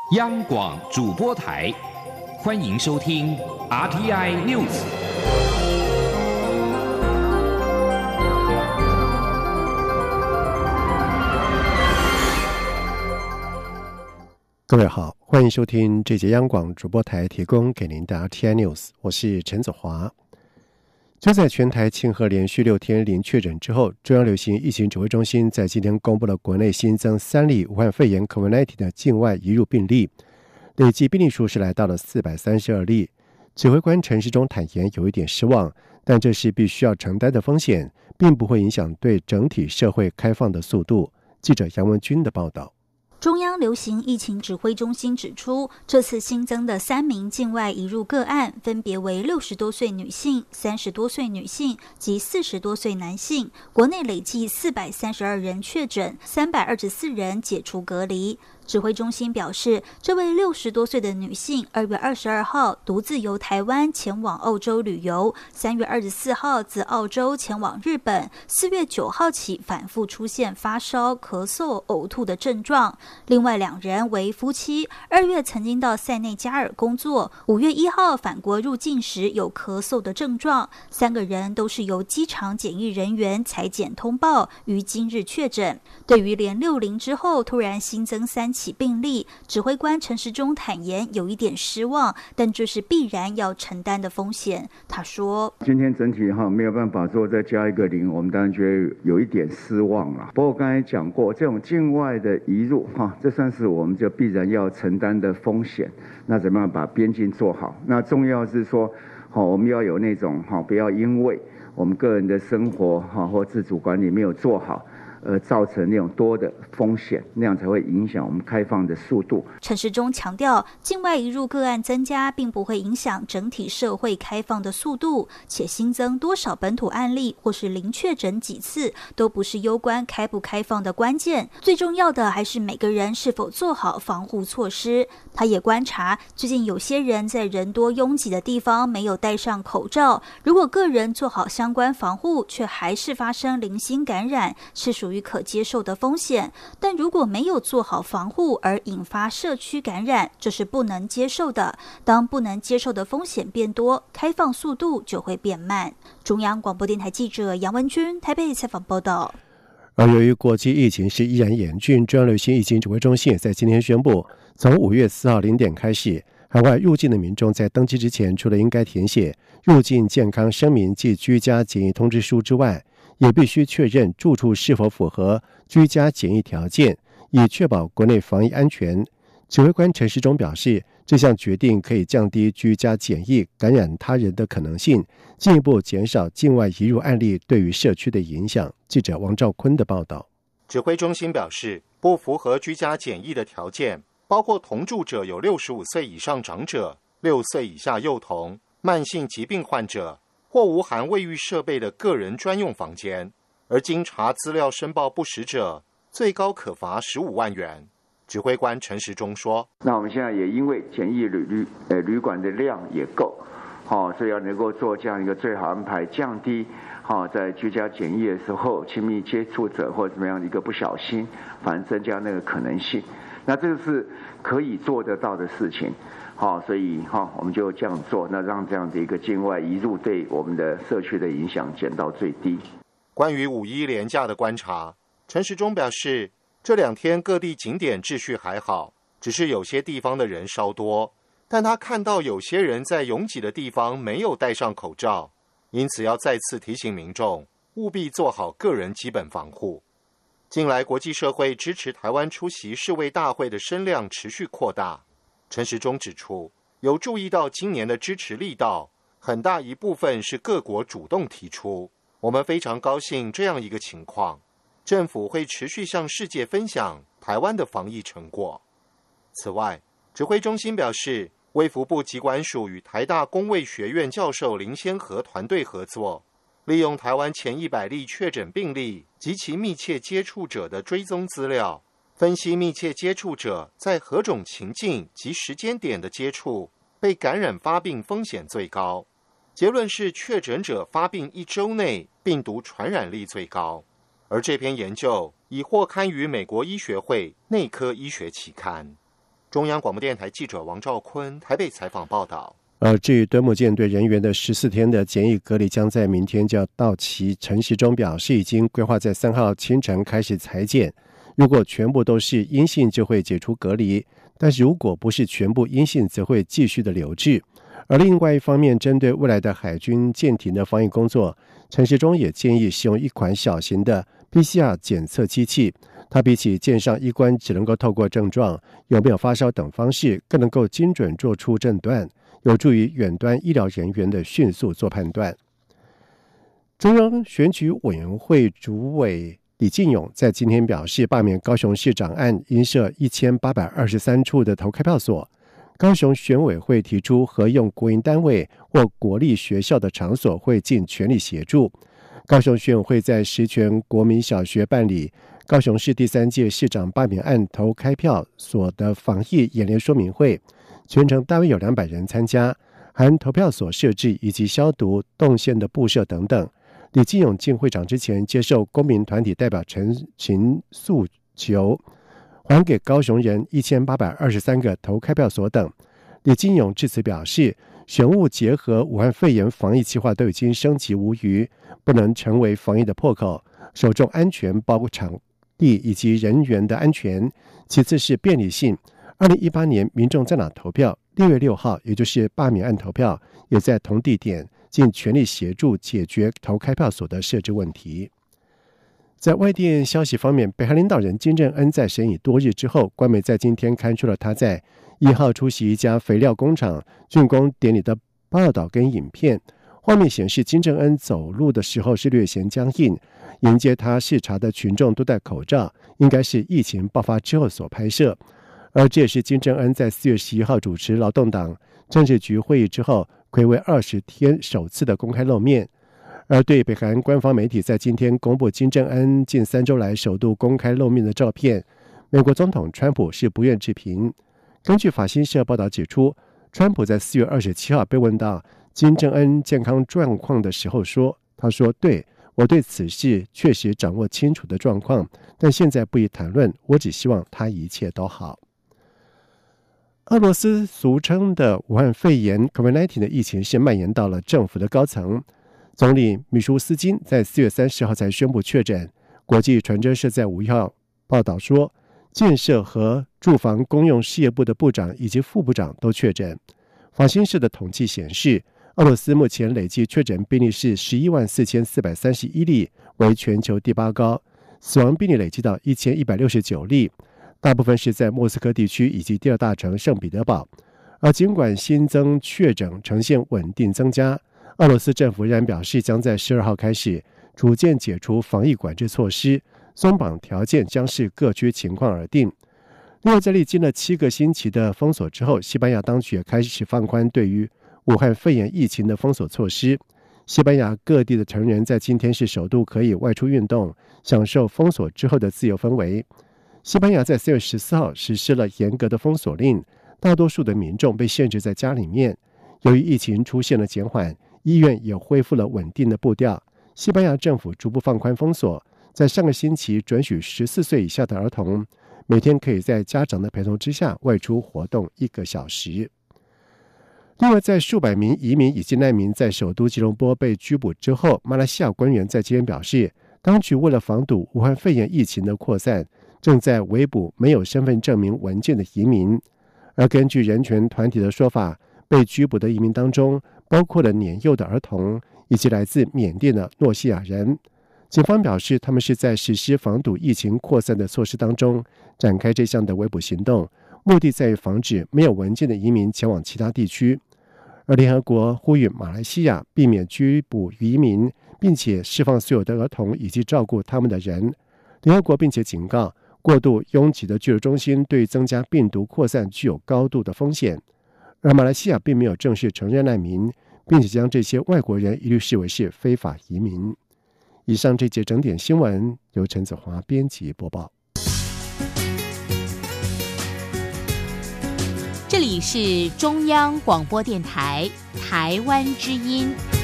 央广主播台，欢迎收听 RTI News。 各位好，欢迎收听这节央广主播台提供给您的 RTI News， 我是陈子华。就在全台庆贺连续6天零确诊之后，中央流行疫情指挥中心在今天公布了国内新增3例武汉肺炎 COVID-19 的境外移入病例，累计病例数是来到了432例。指挥官陈时中坦言有一点失望，但这是必须要承担的风险，并不会影响对整体社会开放的速度。记者杨文君的报道。 中央流行疫情指挥中心指出，这次新增的3名境外移入个案，分别为60多岁女性、30多岁女性及40多岁男性。国内累计432人确诊，324人解除隔离。指挥中心表示，这位60多岁的女性2月22号独自由台湾前往澳洲旅游，3月24号自澳洲前往日本，4月9号起反复出现发烧、咳嗽、呕吐的症状。另外2人为夫妻，2月曾经到塞内加尔工作，5月1号返国入境时有咳嗽的症状。3个人都是由机场检疫人员采检通报，于今日确诊。对于连60之后突然新增3起病例，指挥官陈时中坦言有一点失望，但这是必然要承担的风险。他说：“ 今天整体没有办法说再加一个0，我们当然觉得有一点失望了。不过刚才讲过，这种境外的移入这算是我们就必然要承担的风险。那怎么样把边境做好？那重要是说，我们要有那种不要因为我们个人的生活或自主管理没有做好，造成那种多的风险，那样才会影响我们开放的速度。” 陈时中强调，境外移入个案增加并不会影响整体社会开放的速度，且新增多少本土案例或是零确诊几次，都不是攸关开不开放的关键，最重要的还是每个人是否做好防护措施。他也观察，最近有些人在人多拥挤的地方没有戴上口罩，如果个人做好相关防护，却还是发生零星感染，是属于可接受的风险。但如果没有做好防护而引发社区感染，这是不能接受的。当不能接受的风险变多，开放速度就会变慢。中央广播电台记者杨文君台北采访报道。 而由于国际疫情是依然严峻，中央流行疫情指挥中心也在今天宣布，从5月4号0点开始，海外入境的民众在登机之前，除了应该填写入境健康声明及居家检疫通知书之外，也必须确认住处是否符合居家检疫条件，以确保国内防疫安全。指挥官陈时中表示，这项决定可以降低居家检疫感染他人的可能性，进一步减少境外移入案例对于社区的影响。记者王兆坤的报道。 指挥中心表示，不符合居家检疫的条件包括同住者有65岁以上长者、6岁以下幼童、慢性疾病患者或无含卫浴设备的个人专用房间，而经查资料申报不实者，最高可罚15万元。指挥官陈时中说：“ 那我们现在也因为检疫旅馆的量也够，所以要能够做这样一个最好安排，降低在居家检疫的时候亲密接触者或怎么样的一个不小心，反正增加那个可能性。那这个是可以做得到的事情。”所以我们就这样做，那让这样的一个境外移入对我们的社区的影响减到最低。 关于5·1连假的观察，陈时中表示，这2天各地景点秩序还好，只是有些地方的人稍多，但他看到有些人在拥挤的地方没有戴上口罩，因此要再次提醒民众务必做好个人基本防护。近来国际社会支持台湾出席世卫大会的声量持续扩大，陈时中指出，有注意到今年的支持力道，很大一部分是各国主动提出，我们非常高兴这样一个情况，政府会持续向世界分享台湾的防疫成果。此外，指挥中心表示，卫福部疾管署与台大公卫学院教授林先和团队合作，利用台湾前100例确诊病例及其密切接触者的追踪资料，分析密切接触者在何种情境及时间点的接触被感染发病风险最高。结论是确诊者发病1周内病毒传染力最高。而这篇研究已获刊于美国医学会内科医学期刊。 中央广播电台记者王兆坤台北采访报道。 至于敦睦舰队人员的14天的检疫隔离将在明天就要到期，陈时中表示已经规划在3号清晨开始采检，如果全部都是阴性就会解除隔离，但是如果不是全部阴性则会继续的留置。而另外一方面，针对未来的海军舰艇的防疫工作，陈时中也建议使用一款小型的 PCR 检测机器，它比起舰上医官只能够透过症状、有没有发烧等方式，更能够精准做出诊断，有助于远端医疗人员的迅速做判断。中央选举委员会主委李进勇在今天表示，罢免高雄市长案应设1823处的投开票所，高雄选委会提出合用国营单位或国立学校的场所会尽全力协助。高雄选委会在石泉国民小学办理高雄市第3届市长罢免案投开票所的防疫演练说明会，全程大约有200人参加，含投票所设置以及消毒、动线的布设等等。李进勇进会场之前接受公民团体代表陈情诉求，还给高雄人1823个投开票所等。李进勇致辞表示，选务结合武汉肺炎防疫计划都已经升级无虞，不能成为防疫的破口，首重安全，包括场地以及人员的安全，其次是便利性。2018年民众在哪投票，6月6号也就是罢免案投票，也在同地点，尽全力协助解决投开票所的设置问题。在外电消息方面，北韩领导人金正恩在审议多日之后，官媒在今天刊出了他在1号出席一家肥料工厂竣工典礼的报道跟影片。画面显示，金正恩走路的时候是略显僵硬，迎接他视察的群众都戴口罩，应该是疫情爆发之后所拍摄。而这也是金正恩在4月11号主持劳动党政治局会议之后，睽违20天首次的公开露面。而对北韩官方媒体在今天公布金正恩近3周来首度公开露面的照片，美国总统川普是不愿置评。根据法新社报道指出，川普在4月27号被问到金正恩健康状况的时候说，他说，对，我对此事确实掌握清楚的状况，但现在不宜谈论，我只希望他一切都好。俄罗斯俗称的武汉肺炎 COVID-19 的疫情是蔓延到了政府的高层，总理米舒斯金在4月30号才宣布确诊。国际传真社在5号报道说，建设和住房公用事业部的部长以及副部长都确诊。法新社的统计显示，俄罗斯目前累计确诊病例是114431例，为全球第8高，死亡病例累计到1169例，大部分是在莫斯科地区以及第2大城圣彼得堡。而尽管新增确诊呈现稳定增加，俄罗斯政府仍然表示将在12号开始逐渐解除防疫管制措施，松绑条件将视各区情况而定。另外，在历经了7个星期的封锁之后，西班牙当局也开始放宽对于武汉肺炎疫情的封锁措施。西班牙各地的成人在今天是首度可以外出运动，享受封锁之后的自由氛围。西班牙在4月14号实施了严格的封锁令，大多数的民众被限制在家里面。由于疫情出现了减缓，医院也恢复了稳定的步调。西班牙政府逐步放宽封锁，在上个星期准许14岁以下的儿童每天可以在家长的陪同之下外出活动1个小时。另外，在数百名移民以及难民在首都吉隆坡被拘捕之后，马来西亚官员在今天表示，当局为了防堵武汉肺炎疫情的扩散，正在围捕没有身份证明文件的移民。而根据人权团体的说法，被拘捕的移民当中包括了年幼的儿童以及来自缅甸的诺西亚人。警方表示，他们是在实施防堵疫情扩散的措施当中展开这项的围捕行动，目的在于防止没有文件的移民前往其他地区。而联合国呼吁马来西亚避免拘捕移民，并且释放所有的儿童以及照顾他们的人。联合国并且警告，过度拥挤的居留中心对增加病毒扩散具有高度的风险。而马来西亚并没有正式承认难民，并且将这些外国人一律视为是非法移民。以上这节整点新闻由陈子华编辑播报。 这里是中央广播电台台湾之音。